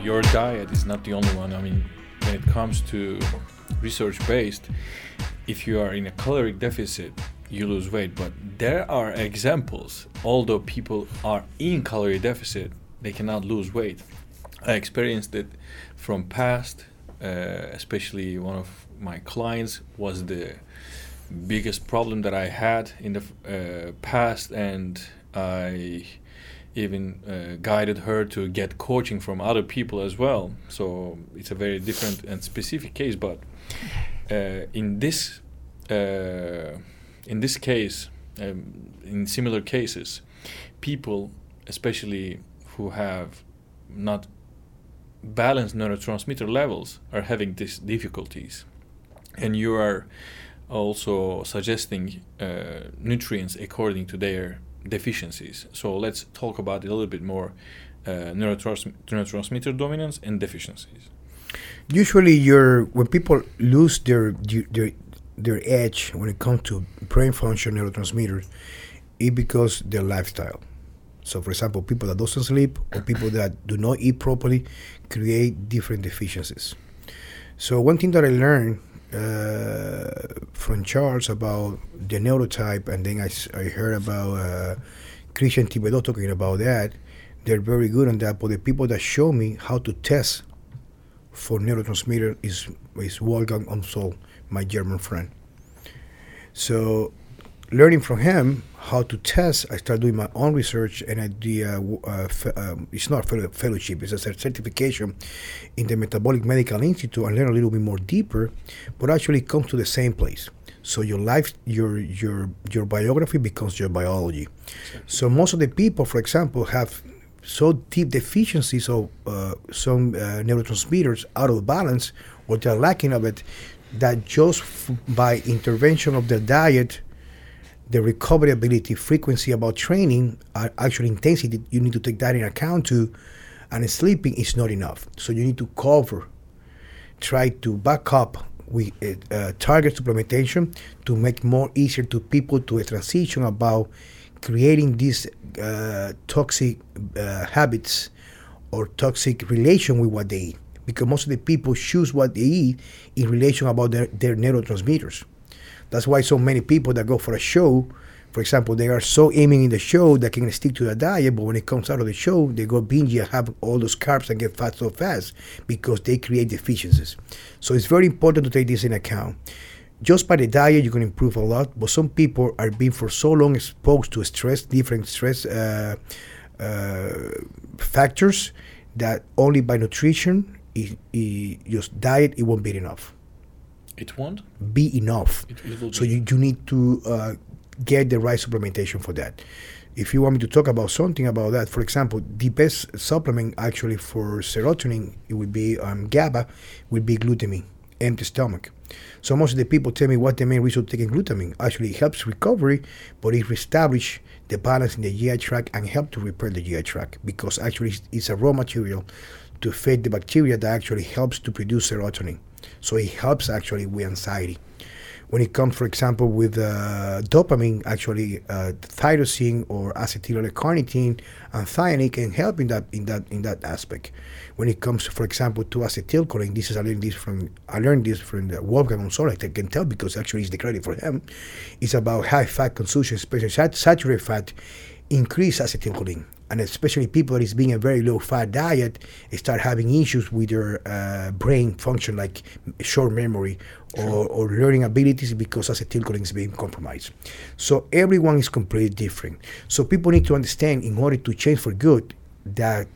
your diet is not the only one. I mean, when it comes to research-based, if you are in a caloric deficit, you lose weight. But there are examples, although people are in calorie deficit, they cannot lose weight. I experienced it from past, especially one of my clients was the biggest problem that I had in the past, and I even guided her to get coaching from other people as well. So it's a very different and specific case, but in this case, in similar cases, people, especially who have not balanced neurotransmitter levels, are having these difficulties. And you are also suggesting nutrients according to their deficiencies. So let's talk about it a little bit more, neurotransmitter dominance and deficiencies. Usually, when people lose their edge when it comes to brain function neurotransmitters, it's because their lifestyle. So, for example, people that doesn't sleep or people that do not eat properly create different deficiencies. So, one thing that I learned from Charles about the neurotype, and then I heard about Christian Thibodeau talking about that. They're very good on that, but the people that show me how to test for neurotransmitter is Wolfgang Umsoll, my German friend. So learning from him how to test, I started doing my own research, and I did, it's not a fellowship, it's a certification in the Metabolic Medical Institute, and learn a little bit more deeper, but actually it comes to the same place. So your life, your biography becomes your biology. So most of the people, for example, have so deep deficiencies of some neurotransmitters out of balance, or they're lacking of it, that just by intervention of their diet, the recovery ability, frequency about training, actual intensity, you need to take that in account too, and sleeping is not enough. So you need to try to back up with target supplementation to make more easier to people to a transition about creating these toxic habits or toxic relation with what they eat. Because most of the people choose what they eat in relation about their neurotransmitters. That's why so many people that go for a show, for example, they are so aiming in the show that can stick to the diet, but when it comes out of the show, they go binge and have all those carbs and get fat so fast because they create deficiencies. So it's very important to take this in account. Just by the diet, you can improve a lot, but some people are being for so long exposed to different stress factors, that only by nutrition, just diet, it won't be enough. It won't be enough. So you need to get the right supplementation for that. If you want me to talk about something about that, for example, the best supplement actually for serotonin, it would be GABA, would be glutamine, empty stomach. So most of the people tell me what the main reason of taking glutamine. Actually, it helps recovery, but it reestablishes the balance in the GI tract and help to repair the GI tract, because actually it's a raw material to feed the bacteria that actually helps to produce serotonin. So it helps actually with anxiety. When it comes, for example, with dopamine, actually tyrosine or acetylcholine and theanine can help in that aspect. When it comes, for example, to acetylcholine, I learned this from the Wolfgang Umsoll. I can tell because actually it's the credit for him. It's about high fat consumption, especially saturated fat, increase acetylcholine. And especially people that is being a very low fat diet start having issues with their brain function, like short memory or learning abilities, because acetylcholine is being compromised. So everyone is completely different. So people need to understand, in order to change for good, that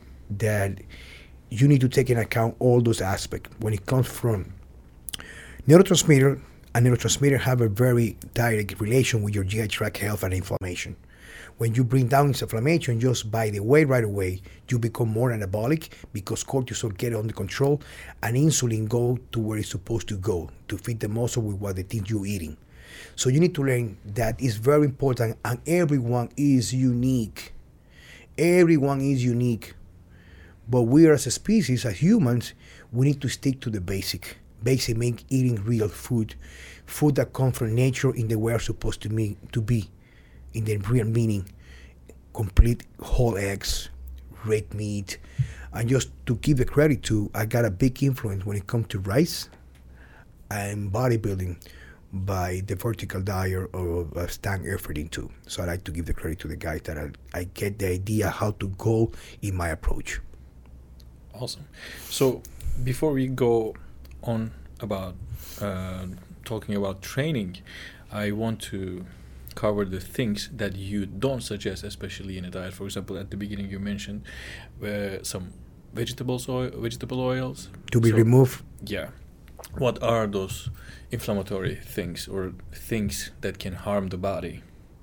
you need to take into account all those aspects. When it comes from neurotransmitter, and neurotransmitter have a very direct relation with your GI tract health and inflammation. When you bring down inflammation just by the way right away, you become more anabolic because cortisol get under control and insulin go to where it's supposed to go to feed the muscle with what the things you're eating. So you need to learn that is very important, and everyone is unique. Everyone is unique. But we as a species, as humans, we need to stick to the basic mean eating real food that comes from nature in the way we're supposed to be. In the real meaning, complete whole eggs, red meat, And just to give the credit to, I got a big influence when it comes to rice and bodybuilding by the vertical diet of Stan Efferding too. So I like to give the credit to the guys that I get the idea how to go in my approach. Awesome. So before we go on about talking about training, I want to cover the things that you don't suggest, especially in a diet. For example, at the beginning you mentioned some vegetable oils To be removed. Yeah. What are those inflammatory things or things that can harm the body?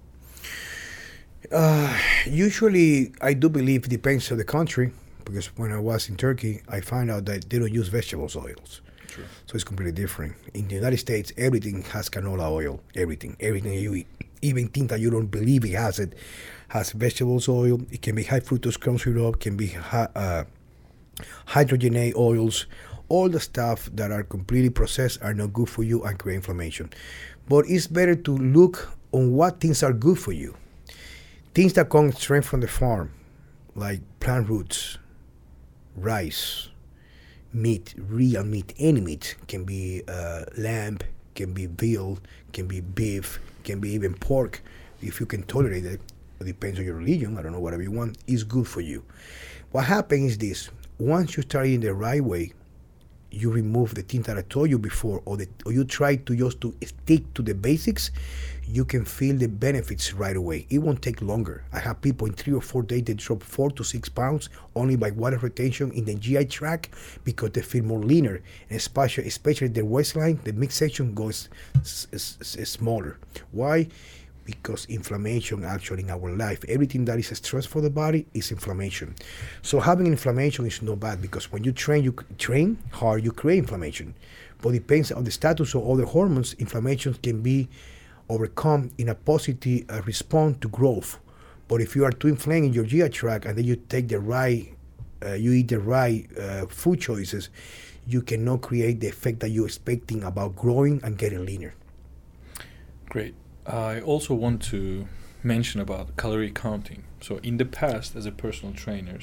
Usually, I do believe it depends on the country, because when I was in Turkey, I found out that they don't use vegetable oils. True. So it's completely different. In the United States, everything has canola oil. Everything you eat, even things that you don't believe it has vegetable oil. It can be high fructose corn syrup, can be hydrogenated oils. All the stuff that are completely processed are not good for you and create inflammation. But it's better to look on what things are good for you. Things that come straight from the farm, like plant roots, rice, meat, real meat, any meat. Can be lamb, can be veal, can be beef, can be even pork. If you can tolerate it, it depends on your religion, I don't know, whatever you want, is good for you. What happens is this: once you start eating the right way, you remove the things that I told you before, or you try to just to stick to the basics, you can feel the benefits right away. It won't take longer. I have people in 3 or 4 days, they drop 4 to 6 pounds only by water retention in the GI tract, because they feel more leaner, and especially the waistline, the midsection goes smaller. Why? Because inflammation actually in our life, everything that is stress for the body is inflammation. So having inflammation is not bad, because when you train hard, you create inflammation. But it depends on the status of other hormones. Inflammation can be overcome in a positive response to growth. But if you are too inflamed in your GI tract, and then you take the right, you eat the right food choices, you cannot create the effect that you're expecting about growing and getting leaner. Great. I also want to mention about calorie counting. So in the past, as a personal trainer,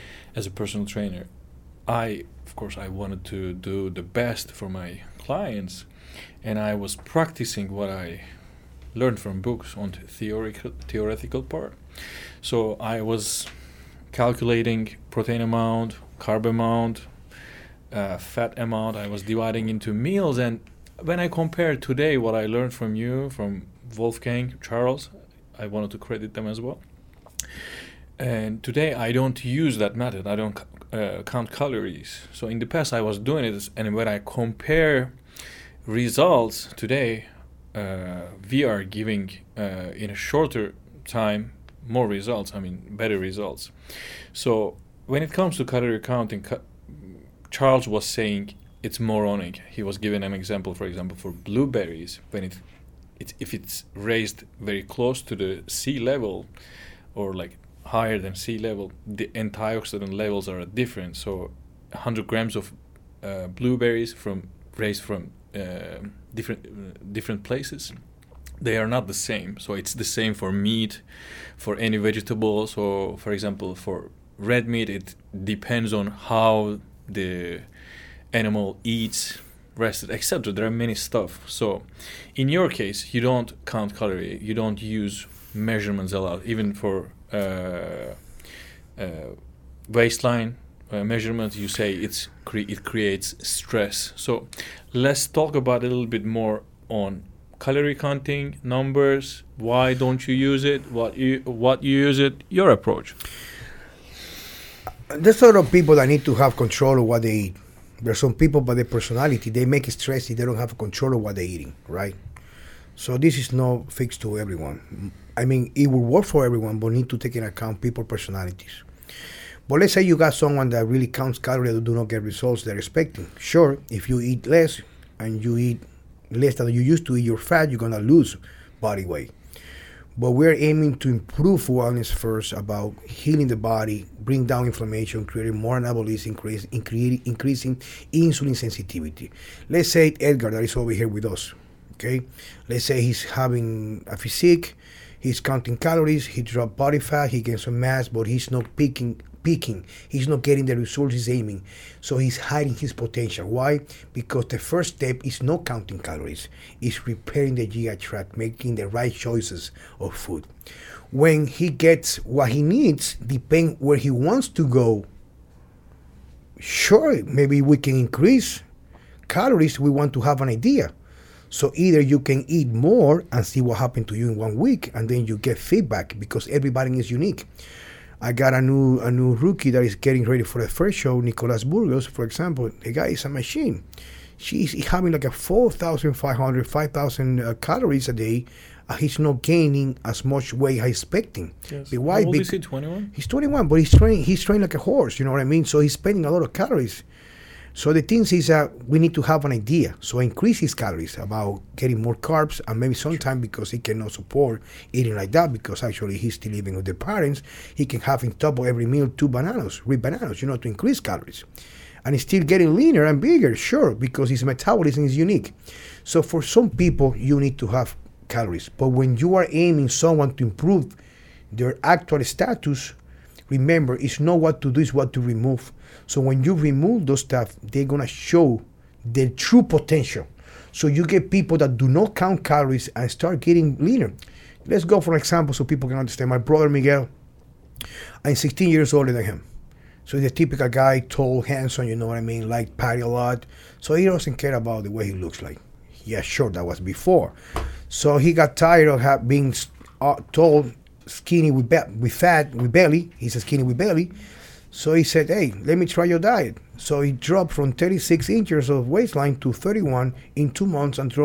I wanted to do the best for my clients, and I was practicing what I learned from books on the theoretical part. So I was calculating protein amount, carb amount, fat amount. I was dividing into meals, and when I compare today what I learned from you, from Wolfgang, Charles, I wanted to credit them as well. And today I don't use that method. I don't count calories. So in the past I was doing it, and when I compare results today, we are giving in a shorter time more results. I mean, better results. So when it comes to calorie counting, Charles was saying it's moronic. He was giving an example, for example, for blueberries. When if it's raised very close to the sea level, or like higher than sea level, the antioxidant levels are different. So 100 grams of blueberries raised from different places, they are not the same. So it's the same for meat, for any vegetable. So for example, for red meat, it depends on how the animal eats, rested, etc. There are many stuff. So in your case, you don't count calorie, you don't use measurements a lot, even for waistline measurement. You say it creates stress. So let's talk about a little bit more on calorie counting, numbers. Why don't you use it? What you use it? Your approach. There's sort of people that need to have control of what they eat. There's some people, by their personality, they make it stressy. They don't have control of what they're eating, right? So this is no fix to everyone. I mean, it will work for everyone, but need to take into account people's personalities. But let's say you got someone that really counts calories that do not get results they're expecting. Sure, if you eat less and you eat less than you used to eat your fat, you're going to lose body weight. But we're aiming to improve wellness first, about healing the body, bring down inflammation, creating more anabolism, increasing insulin sensitivity. Let's say Edgar, that is over here with us, okay? Let's say he's having a physique, he's counting calories, he dropped body fat, he gained some mass, but he's not peaking peaking. He's not getting the results he's aiming. So he's hiding his potential. Why? Because the first step is not counting calories. It's repairing the GI tract, making the right choices of food. When he gets what he needs, depending where he wants to go, sure, maybe we can increase calories. We want to have an idea. So either you can eat more and see what happened to you in 1 week, and then you get feedback because everybody is unique. I got a new rookie that is getting ready for the first show, Nicolas Burgos, for example. The guy is a machine. She's having like a 4,500, 5,000 calories a day. He's not gaining as much weight as expecting. Yes. But why? How old is he, 21? He's 21, but he's trained like a horse, you know what I mean? So he's spending a lot of calories. So the thing is that we need to have an idea. So increase his calories about getting more carbs, and maybe sometime because he cannot support eating like that because actually he's still living with the parents, he can have in top of every meal 2 bananas, 3 bananas, to increase calories. And he's still getting leaner and bigger, sure, because his metabolism is unique. So for some people, you need to have calories. But when you are aiming someone to improve their actual status, remember, it's not what to do, it's what to remove. So when you remove those stuff, they're going to show their true potential. So you get people that do not count calories and start getting leaner. Let's go for an example so people can understand. My brother Miguel, I'm 16 years older than him. So he's a typical guy, tall, handsome, you know what I mean, like party a lot. So he doesn't care about the way he looks like. Yeah, sure, that was before. So he got tired of being tall, skinny with fat, with belly. He's a skinny with belly. So he said, hey, let me try your diet. So he dropped from 36 inches of waistline to 31 in 2 months and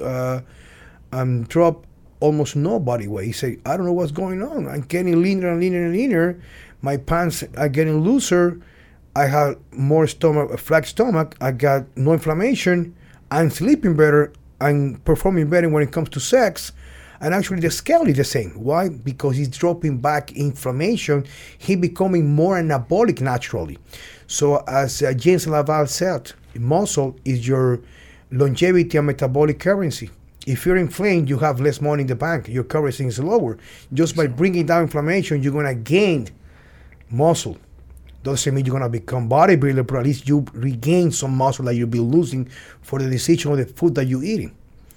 dropped almost no body weight. He said, I don't know what's going on. I'm getting leaner and leaner and leaner. My pants are getting looser. I have more stomach, a flat stomach. I got no inflammation. I'm sleeping better. I'm performing better when it comes to sex. And actually the scale is the same. Why? Because he's dropping back inflammation. He's becoming more anabolic naturally. So as James Laval said, muscle is your longevity and metabolic currency. If you're inflamed, you have less money in the bank. Your currency is lower. Just by bringing down inflammation, you're going to gain muscle. Doesn't mean you're going to become bodybuilder, but at least you regain some muscle that you'll be losing for the decision of the food that you're eating.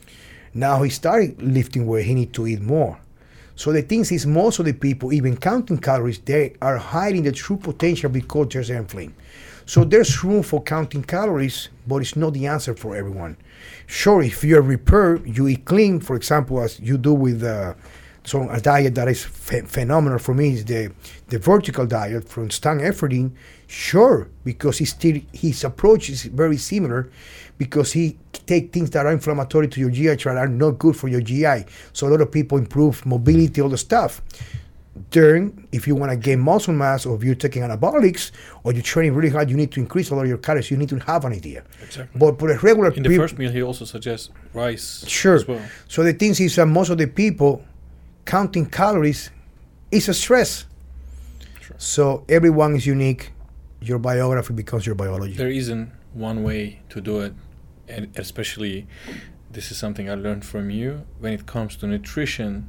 Now he started lifting weight, he needs to eat more. So the thing is, most of the people, even counting calories, they are hiding the true potential because they're inflamed. So there's room for counting calories, but it's not the answer for everyone. Sure, if you're repaired, you eat clean, for example, as you do with a diet that is phenomenal for me is the vertical diet from Stan Efferding. Sure, because his approach is very similar, because he take things that are inflammatory to your GI tract are not good for your GI. So a lot of people improve mobility, all the stuff. Then, if you want to gain muscle mass, or if you're taking anabolics, or you're training really hard, you need to increase a lot of your calories. You need to have an idea. Exactly. But for a regular in the first meal, he also suggests rice. Sure. As well. So the thing is that most of the people counting calories is a stress. Sure. So everyone is unique. Your biography becomes your biology. There isn't one way to do it, and especially this is something I learned from you. When it comes to nutrition,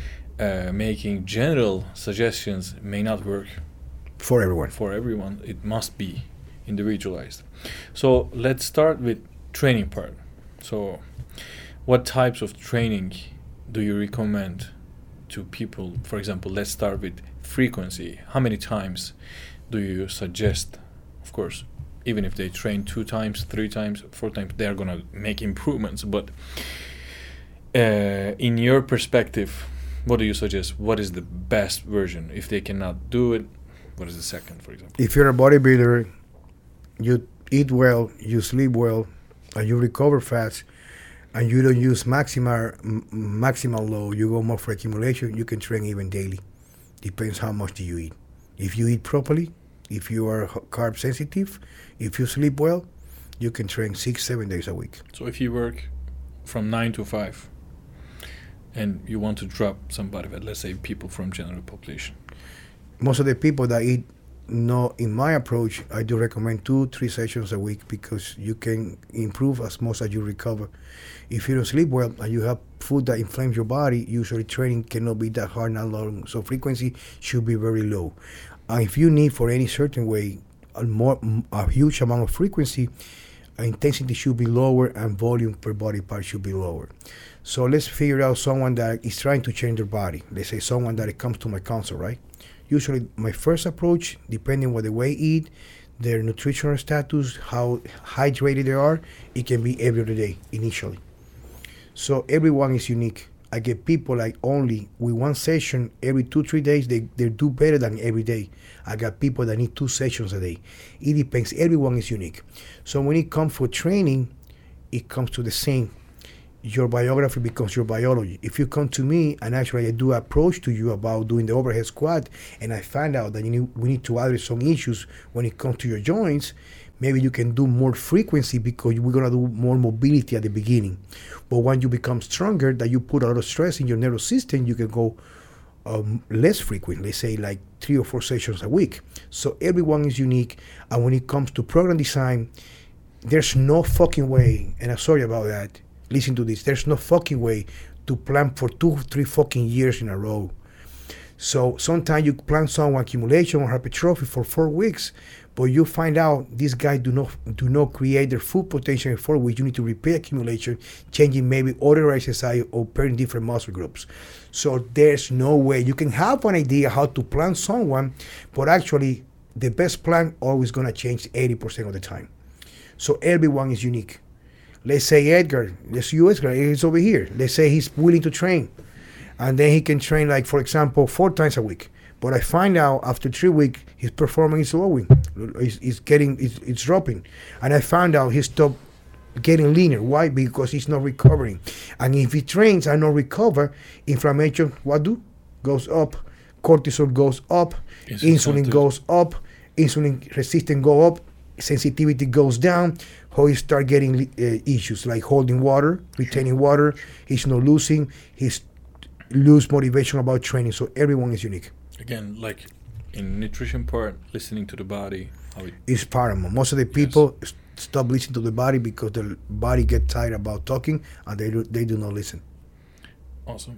making general suggestions may not work for everyone. For everyone, it must be individualized. So let's start with training part. So what types of training do you recommend to people? For example, let's start with frequency. How many times do you suggest? Of course, even if they train 2 times, 3 times, 4 times, they're gonna make improvements. But in your perspective, what do you suggest? What is the best version? If they cannot do it, what is the second, for example? If you're a bodybuilder, you eat well, you sleep well, and you recover fast, and you don't use maximal load, you go more for accumulation, you can train even daily. Depends how much do you eat. If you eat properly, if you are carb sensitive, if you sleep well, you can train 6-7 days a week. So if you work from 9 to 5 and you want to drop some body fat, let's say people from general population, most of the people that eat no, in my approach, I do recommend 2-3 sessions a week because you can improve as much as you recover. If you don't sleep well and you have food that inflames your body, usually training cannot be that hard, not long. So frequency should be very low. And if you need for any certain way a huge amount of frequency, intensity should be lower and volume per body part should be lower. So let's figure out someone that is trying to change their body. Let's say someone that comes to my consult, right? Usually my first approach, depending on what they eat, their nutritional status, how hydrated they are, it can be every other day initially. So everyone is unique. I get people like only with one session every 2-3 days, they do better than every day. I got people that need 2 sessions a day. It depends. Everyone is unique. So when it comes for training, it comes to the same. Your biography becomes your biology. If you come to me and actually I do approach to you about doing the overhead squat and I find out that we need to address some issues when it comes to your joints, maybe you can do more frequency because we're going to do more mobility at the beginning. But when you become stronger, that you put a lot of stress in your nervous system, you can go less frequent, let's say like 3 or 4 sessions a week. So everyone is unique. And when it comes to program design, there's no fucking way, and I'm sorry about that, listen to this, there's no fucking way to plan for 2-3 fucking years in a row. So sometimes you plan some accumulation or hypertrophy for 4 weeks, but you find out these guys do not create their full potential in 4 weeks. You need to repeat accumulation, changing maybe other exercise or pairing different muscle groups. So there's no way. You can have an idea how to plan someone, but actually the best plan always going to change 80% of the time. So everyone is unique. Let's say Edgar, he's over here. Let's say he's willing to train. And then he can train, like, for example, 4 times a week. But I find out after 3 weeks, his performance is lowering. It's dropping. And I found out he stopped getting leaner. Why? Because he's not recovering. And if he trains and not recover, inflammation, goes up. Cortisol goes up. Insulin goes up. Insulin resistance go up. Sensitivity goes down. How he start getting issues like holding water, retaining water. He's not losing. He's lose motivation about training. So everyone is unique. Again, like in nutrition part, listening to the body, is paramount. Most of the people stop listening to the body because the body get tired about talking and they do not listen. Awesome.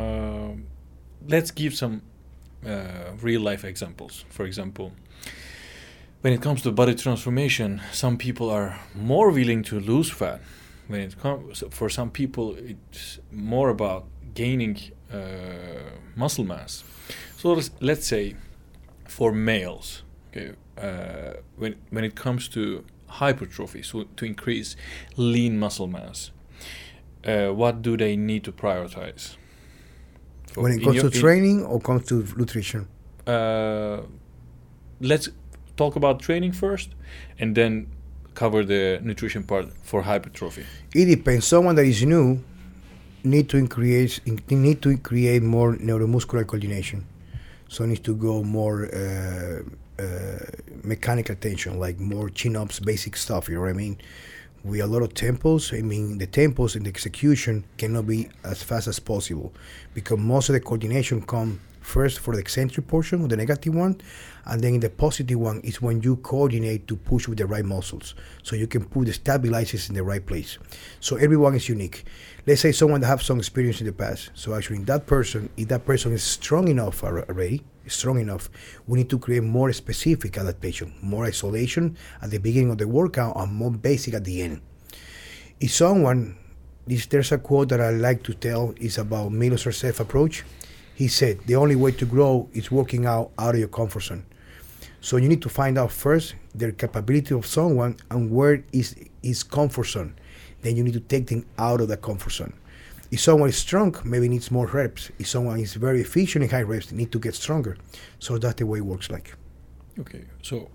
Let's give some real life examples. For example, when it comes to body transformation, some people are more willing to lose fat. When it comes, for some people, it's more about gaining muscle mass. So let's say for males, okay, when it comes to hypertrophy, so to increase lean muscle mass, what do they need to prioritize? When it comes to training or comes to nutrition? Let's talk about training first, and then cover the nutrition part for hypertrophy. It depends. Someone that is new need to create more neuromuscular coordination. So it needs to go more mechanical tension, like more chin-ups, basic stuff, you know what I mean? With a lot of tempos, the tempos and the execution cannot be as fast as possible because most of the coordination come first for the eccentric portion, the negative one, and then in the positive one is when you coordinate to push with the right muscles. So you can put the stabilizers in the right place. So everyone is unique. Let's say someone that have some experience in the past. So actually, if that person is strong enough already, we need to create more specific adaptation, more isolation at the beginning of the workout and more basic at the end. If someone, there's a quote that I like to tell, is about Milos Sarcev approach. He said, the only way to grow is working out of your comfort zone. So you need to find out first the capability of someone and where is his comfort zone. Then you need to take them out of the comfort zone. If someone is strong, maybe needs more reps. If someone is very efficient in high reps, they need to get stronger. So that's the way it works like. Okay, so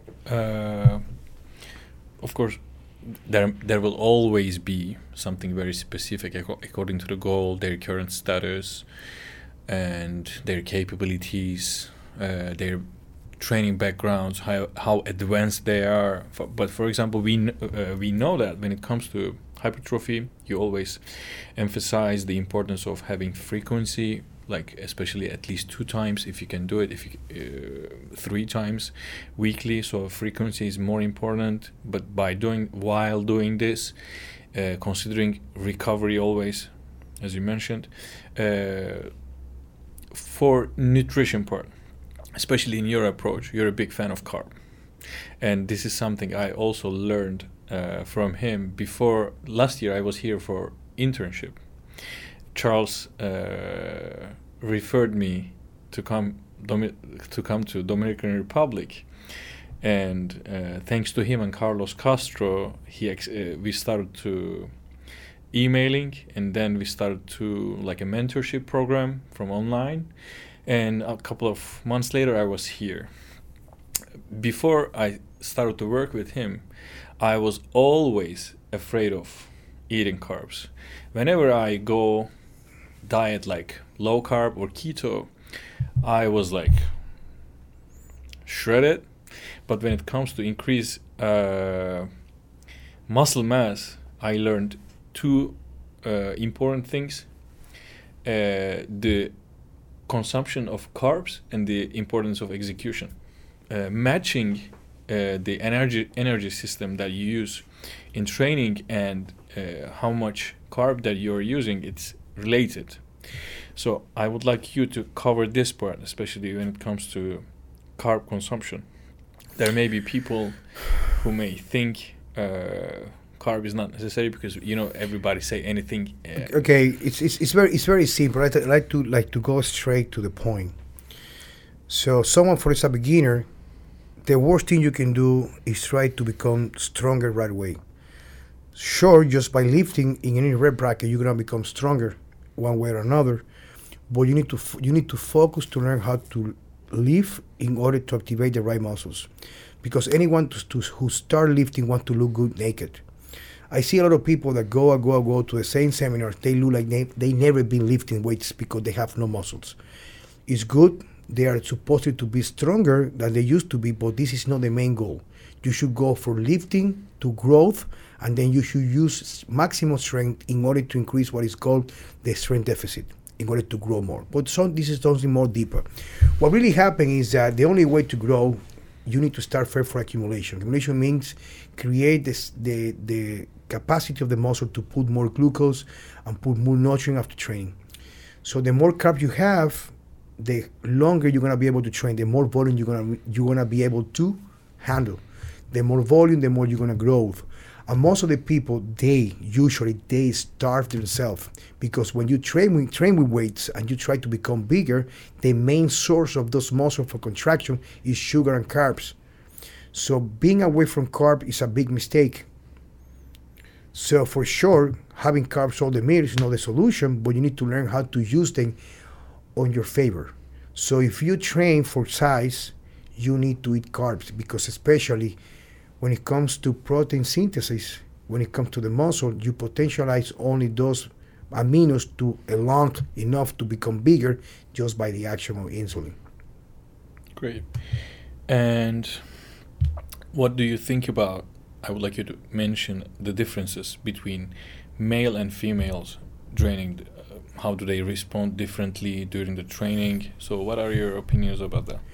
of course, there will always be something very specific according to the goal, their current status, and their capabilities, their training backgrounds, how advanced they are. But for example, we know that when it comes to hypertrophy, you always emphasize the importance of having frequency like especially at least 2 times if you can do it, if you 3 times weekly. So frequency is more important, but while doing this, considering recovery always, as you mentioned, for nutrition part, especially in your approach, you're a big fan of carb, and this is something I also learned from him. Before last year I was here for internship. Charles referred me to come to Dominican Republic, and thanks to him and Carlos Castro, we started to emailing, and then we started to like a mentorship program from online, and a couple of months later I was here. Before I started to work with him, I was always afraid of eating carbs. Whenever I go diet like low carb or keto, I was like shredded. But when it comes to increase muscle mass, I learned 2 important things: the consumption of carbs and the importance of execution. Matching the energy system that you use in training and how much carb that you're using, it's related. So I would like you to cover this part, especially when it comes to carb consumption. There may be people who may think carb is not necessary because everybody say anything. Okay, it's very simple. I like to go straight to the point. So someone, for example, a beginner, the worst thing you can do is try to become stronger right away. Sure, just by lifting in any rep bracket, you're gonna become stronger one way or another. But you need to focus to learn how to lift in order to activate the right muscles, because anyone who start lifting want to look good naked. I see a lot of people that go to the same seminars. They look like they never been lifting weights because they have no muscles. It's good. They are supposed to be stronger than they used to be, but this is not the main goal. You should go for lifting to growth, and then you should use maximum strength in order to increase what is called the strength deficit, in order to grow more. But this is something more deeper. What really happened is that the only way to grow, you need to start first for accumulation. Accumulation means create the capacity of the muscle to put more glucose and put more nutrient after training. So the more carb you have, the longer you're gonna be able to train, the more volume you're gonna be able to handle. The more volume, the more you're gonna grow. And most of the people, they starve themselves, because when you train with weights and you try to become bigger, the main source of those muscles for contraction is sugar and carbs. So being away from carb is a big mistake. So for sure, having carbs all the meal is not the solution, but you need to learn how to use them on your favor. So if you train for size, you need to eat carbs, because especially when it comes to protein synthesis, when it comes to the muscle, you potentialize only those aminos to along enough to become bigger just by the action of insulin. Great. And what do you think about, I would like you to mention the differences between male and females training. How do they respond differently during the training? So what are your opinions about that?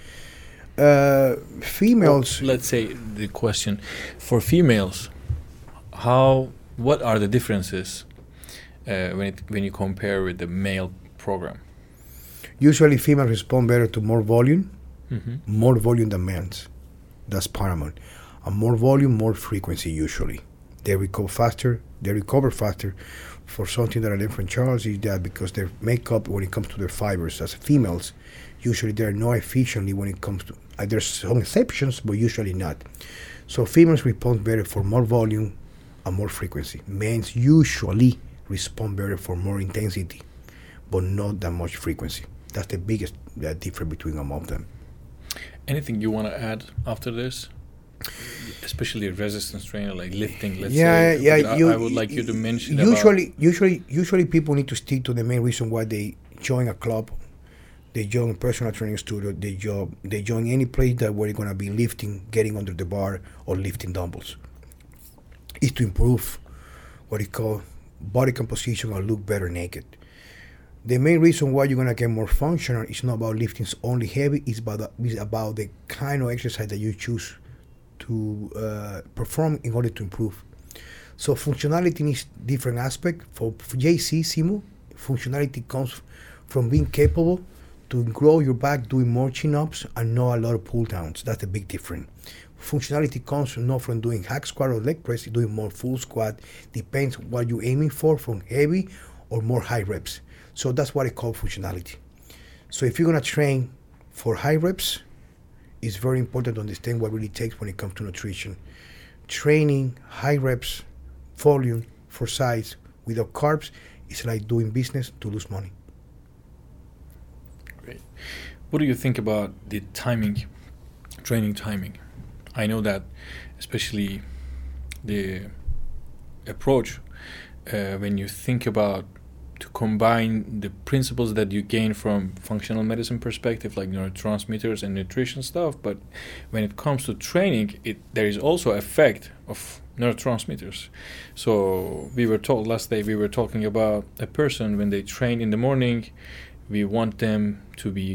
Females. Well, let's say the question for females, what are the differences when you compare with the male program? Usually females respond better to more volume than men's. That's paramount. And more volume, more frequency usually. They recover faster. For something that I learned from Charles is that because their makeup, when it comes to their fibers as females, usually they're not efficiently when it comes to, there's some exceptions, but usually not. So females respond better for more volume and more frequency. Men usually respond better for more intensity, but not that much frequency. That's the biggest difference between among them. Anything you want to add after this? Especially a resistance trainer, like lifting, let's say. I would like you to mention usually people need to stick to the main reason why they join a club, they join a personal training studio, they join any place that where you're going to be lifting, getting under the bar, or lifting dumbbells. Is to improve what you call body composition or look better naked. The main reason why you're gonna get more functional is not about lifting only heavy. It's about the kind of exercise that you choose to perform in order to improve. So functionality is different aspect. For JC Simu, functionality comes from being capable to grow your back doing more chin-ups and not a lot of pull-downs. That's the big difference. Functionality comes not from doing hack squat or leg press, doing more full squat. Depends what you're aiming for, from heavy or more high reps. So that's what I call functionality. So if you're gonna train for high reps, it's very important to understand what really takes when it comes to nutrition. Training high reps, volume for size without carbs is like doing business to lose money. Great. What do you think about the timing, training timing? I know that especially the approach when you think about to combine the principles that you gain from functional medicine perspective, like neurotransmitters and nutrition stuff, but when it comes to training, there is also effect of neurotransmitters. So we were told last day, we were talking about a person when they train in the morning, we want them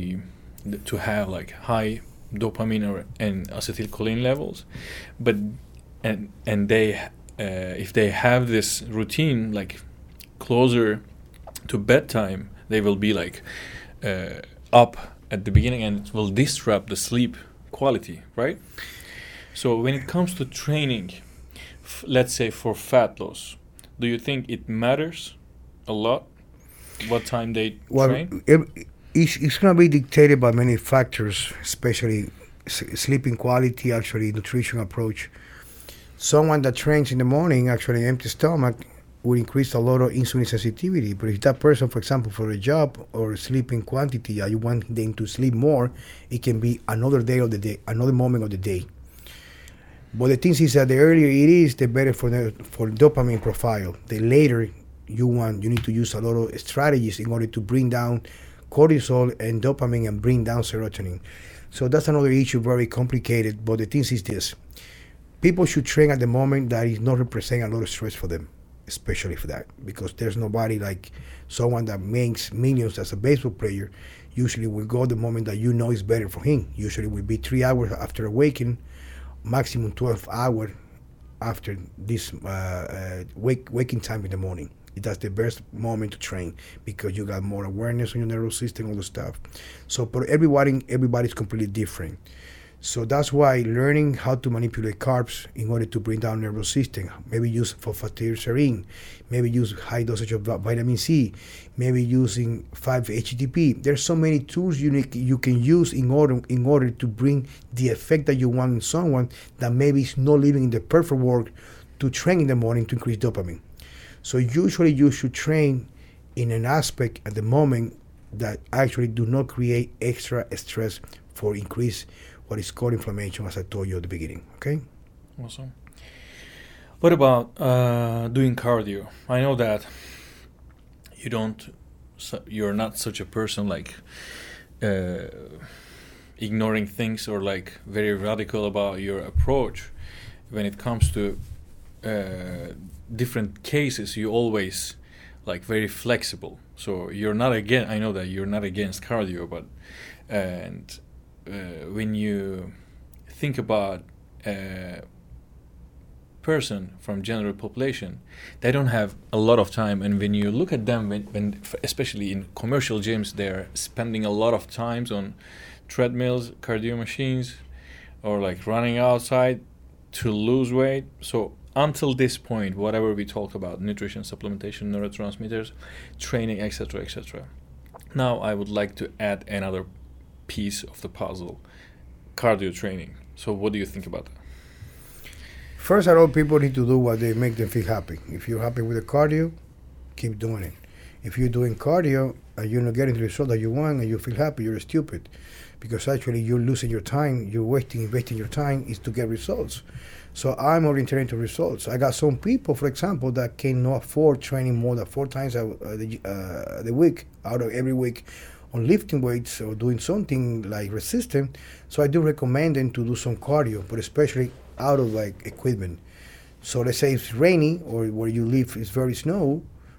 to have like high dopamine and acetylcholine levels, but and they if they have this routine like closer to bedtime, they will be like up at the beginning, and it will disrupt the sleep quality, right? So when it comes to training, let's say for fat loss, do you think it matters a lot what time they train? It's going to be dictated by many factors, especially sleeping quality, actually nutrition approach. Someone that trains in the morning, actually empty stomach, will increase a lot of insulin sensitivity. But if that person, for example, for a job or sleeping quantity, you want them to sleep more, it can be another day of the day, another moment of the day. But the thing is that the earlier it is, the better for dopamine profile. The later you need to use a lot of strategies in order to bring down cortisol and dopamine and bring down serotonin. So that's another issue, very complicated. But the thing is this: people should train at the moment that is not representing a lot of stress for them, especially for that, because there's nobody like someone that makes millions as a baseball player. Usually will go the moment that you know is better for him. Usually will be 3 hours after awakening, maximum 12 hours after this waking time in the morning. That's the best moment to train because you got more awareness on your nervous system, all the stuff. So for everybody's completely different. So that's why learning how to manipulate carbs in order to bring down nervous system, maybe use phosphatidylserine, maybe use high dosage of vitamin C, maybe using 5-HTP. There's so many tools you can use in order to bring the effect that you want in someone that maybe is not living in the perfect world to train in the morning to increase dopamine. So usually you should train in an aspect at the moment that actually do not create extra stress for increase what is called inflammation, as I told you at the beginning. Okay. Awesome. What about doing cardio? I know that you're not such a person like ignoring things or like very radical about your approach when it comes to different cases. You always like very flexible. So you're not I know that you're not against cardio, but when you think about a person from general population, they don't have a lot of time, and when you look at them, when especially in commercial gyms, they're spending a lot of times on treadmills, cardio machines, or like running outside to lose weight. So until this point, whatever we talk about, nutrition, supplementation, neurotransmitters, training, etc., etc. Now I would like to add another piece of the puzzle: cardio training. So what do you think about that? First of all, people need to do what they make them feel happy. If you're happy with the cardio, keep doing it. If you're doing cardio and you're not getting the result that you want and you feel happy, you're stupid, because actually you're losing your time. You're investing your time is to get results. So I'm oriented to results. I got some people, for example, that cannot afford training more than 4 times the week, out of every week, on lifting weights or doing something like resistance. So I do recommend them to do some cardio, but especially out of like equipment. So let's say it's rainy or where you live is very snow,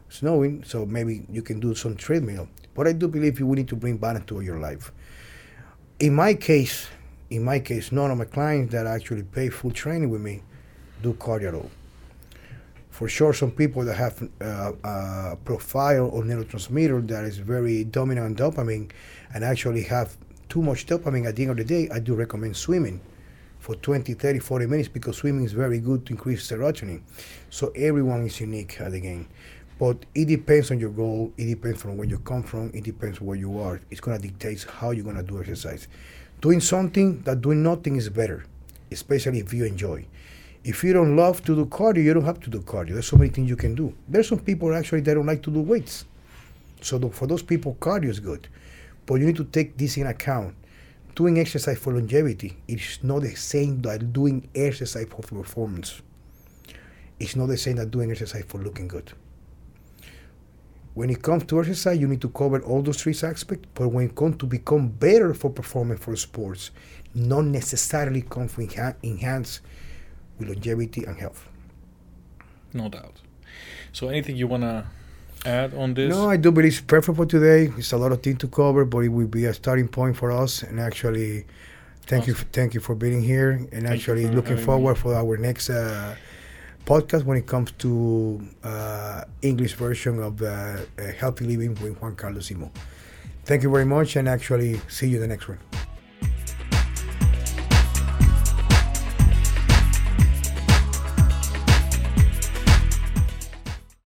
snowing, so maybe you can do some treadmill. But I do believe you will need to bring balance to your life. In my case, none of my clients that actually pay full training with me do cardio at all. For sure, some people that have a profile or neurotransmitter that is very dominant on dopamine and actually have too much dopamine at the end of the day, I do recommend swimming for 20, 30, 40 minutes because swimming is very good to increase serotonin. So everyone is unique at the game. But it depends on your goal. It depends from where you come from. It depends where you are. It's going to dictate how you're going to do exercise. Doing something that doing nothing is better, especially if you enjoy. If you don't love to do cardio, you don't have to do cardio. There's so many things you can do. There's some people actually that don't like to do weights. So for those people, cardio is good. But you need to take this in account. Doing exercise for longevity is not the same that doing exercise for performance. It's not the same that doing exercise for looking good. When it comes to exercise, you need to cover all those three aspects. But when it comes to become better for performance for sports, not necessarily come from enhance with longevity and health. No doubt. So anything you want to add on this? No, I do believe it's perfect for today. It's a lot of things to cover, but it will be a starting point for us. And actually, thank you for being here. And actually, looking forward for our next podcast when it comes to English version of Healthy Living with Juan Carlos Simon. Thank you very much, and actually, see you in the next one.